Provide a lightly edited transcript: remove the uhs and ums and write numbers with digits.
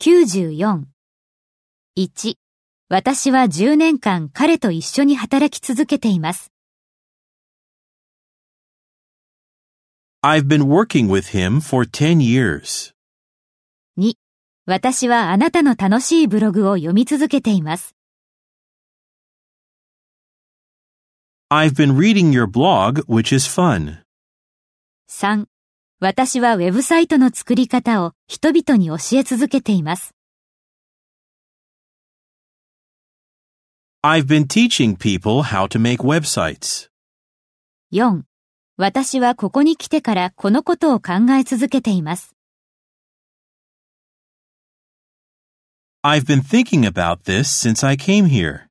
94。1、私は10年間彼と一緒に働き続けています。 I've been working with him for 10 years. 2、私はあなたの楽しいブログを読み続けています。 I've been reading your blog, which is fun. 3、私はウェブサイトの作り方を人々に教え続けています。 I've been teaching people how to make websites. 4、私はここに来てからこのことを考え続けています。 I've been thinking about this since I came here.